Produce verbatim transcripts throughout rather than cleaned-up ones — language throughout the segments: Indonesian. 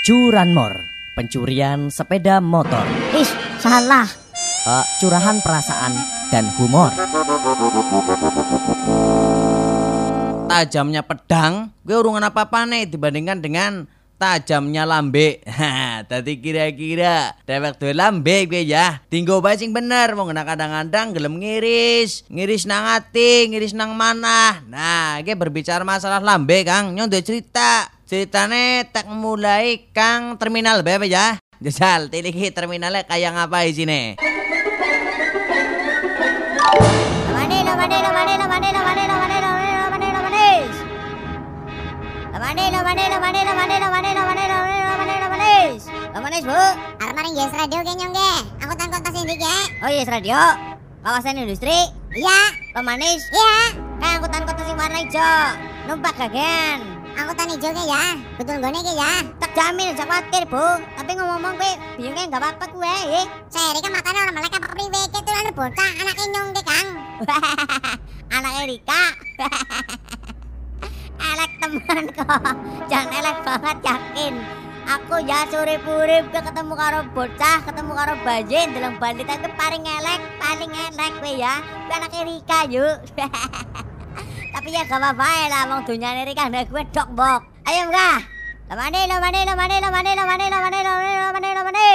Curanmor, pencurian sepeda motor. Ih, salah. Uh, curahan perasaan dan humor. Tajamnya pedang, gue urungan apa-apa nih dibandingkan dengan tajamnya lambe. Tadi kira-kira dewek duwe lambe gue ya. Tinggo bae sing bener, mau ngena kadang-kadang gelem ngiris, ngiris nang ati, ngiris nang manah. Nah, gue berbicara masalah lambe, Kang. Nyong duwe cerita. Ceritane tak mulai Kang terminal bae ya. Jajal, tiliki terminalnya kayak ngapa isine? Lamane, lamane, lamane, lamane, lamane, lamane, lamane, lamane, lamane. Lamane, lamane, lamane, lamane, lamane, lamane, lamane, lamane, lamane. Lamane, Bu. Arep maring Yes Radio ke nyong ge. Angkutan kota sindik ya. Oh, Yes Radio. Kawasan industri. Iya. Lamanis. Iya. Kayak angkutan kota sing warna ijo. Numpak gagen. Angkutan ijo ke ya. Betul gone ke ya. Tak jamin aja khawatir, Bu. Tapi ngomong-ngomong kowe biyunge enggak apa-apa kowe, nggih. Seri kan matane ora melek apa priwe ke tulan bocah anake nyong ke, Kang. Anak Erika. Elek temen kok. Jangan elek banget yakin. Aku ya urip-urip ke ketemu karo bocah, ketemu karo bajin dalam bandit itu paling elek, paling elek kowe ya. Kowe anak Erika yuk. Tapi ya gak apa-apa lah, wong dunyane Erika ndak gue dok bok. Ayo enggak? Lamane, lamane, lamane, lamane, lamane, lamane, lamane, lamane, lamane.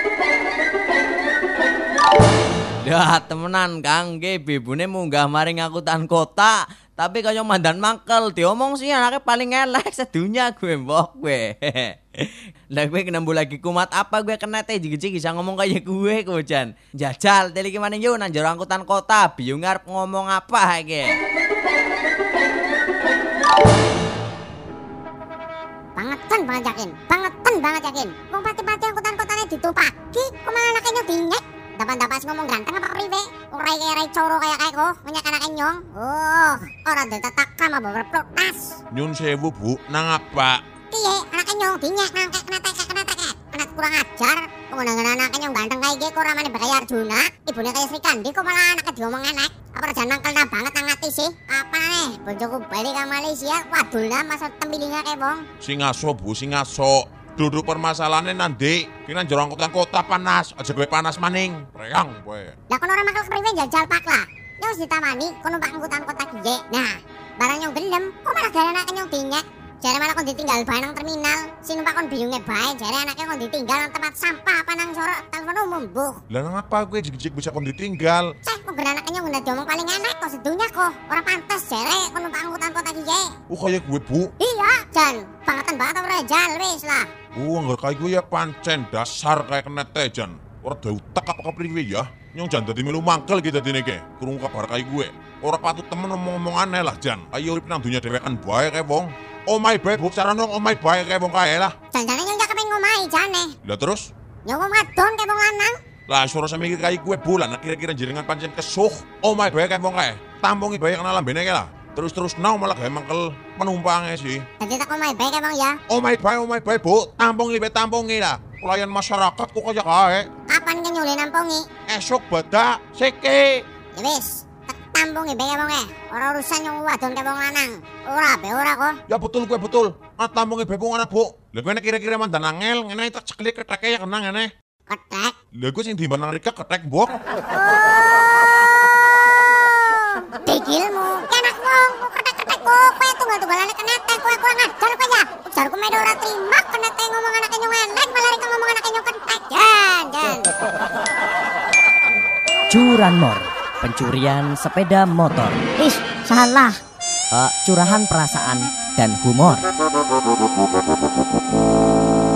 Ya temenan Kang, ge bibune munggah maring angkutan kota, tapi kaya mandan mangkel diomong sih anaknya paling elek sedunia gue mbok gue. Lah gue kenambu lagi kumat apa gue kena teh jigi-jigi bisa ngomong kayak gue kojan. Jajal teli gimana yo nang jero angkutan kota, bingung arep ngomong apa ge. Bangetan banget yakin, bangetan banget yakin. Wong pati-pati angkutan kotane ditupaki, kok malah anake nyong dinyek. Dapat-dapat ngomong ganteng apa priwe? Urai kaya coro kaya kayak kok, nyak anake nyong. Oh, ora ditatakam apa berprotes. Nyun sewu, Bu, nang apa? Piye, anake nyong dinyek nang kek kena tekek kena tekek. Kena kurang ajar. Pengundangan anake nyong ganteng kayak ge kok ramane bakaya Arjuna. Ibune kaya Sri Kandi kok malah anake diomong elek. Apa rajan nangkelna banget nang ati sih? Apa nih? Bojoku balik ke Malaysia, wadulna masa tembilinga kayak wong. Sing aso, Bu, sing aso. Duduk permasalahannya nanti kena jero angkutan kota panas, aja gue panas maning. Reyang kowe. Lah kon ora makel kepriwe jajal pak lah. Nyong wis ditamani kon numpak angkutan kota kiye. Nah, barang nyong gelem, kok malah gara anake nyong dinyek. Jare malah kon ditinggal bae nang terminal. Sing numpak kon biyunge bae, jare anake kon ditinggal nang tempat sampah apa nang sorok telepon umum, Bu. Lah nang apa gue jig-jig bisa kon ditinggal? Cek kok gara anake nyong udah diomong paling enak kok sedunya kok. Ora pantes jare kon numpak angkutan kota kiye. Oh kayak gue, Bu. Iya, Jan. Bangetan banget ora jal wis lah. Oh enggak kayak gue ya pancen dasar kayak kena tejan. Ora ada utak apa kepriwe ya? Nyong jan dadi melu mangkel gitu dene ke. Krungu kabar kayak gue. Ora patut temen ngomong-ngomong aneh lah Jan. Ayo urip nang dunya dhewekan bae kae wong. Oh my bae bu cara nong oh my bae kae wong kae lah. Jan-jane nyong jak kepengin ngomahi jane. Lah terus? Nyong ngadon kae wong lanang. Lah suara sampe kayak gue bulan kira-kira jenengan pancen kesuh. Oh my bae kae wong kae. Tampongi bae kena lambene kae lah. Terus-terus now malah gawe mangkel penumpangnya sih. Jadi tak omai bae kae wong ya. Oh my bae, oh my bae bu. Tampongi bae tampongi lah. Pelayan masyarakat kok kaya kae. Kapan ke nyule nampongi? Esok badak seke. Ya wis, tak tampongi bae wong e. Ora urusan nyong wadon kae wong lanang. Ora be ora kok. Ya betul gue betul. Ah tampongi bae wong anak bu. Lah gue kira-kira mandan angel ngene tak ceklik keteke ya kena ngene. Ketek. Lah gue sing dimban nang Rika ketek mbok. Dikilmu, anak wong, ketek-ketek kok, kaya tunggal-tunggalane kenetek, kowe kurang ajar kowe ya. Ujarku medo ora terima, kenetek ngomong anake nyong elek, malah rek ngomong anake nyong ketek. Jan, jan. Curanmor, pencurian sepeda motor. Ih, salah. Uh, curahan perasaan dan humor.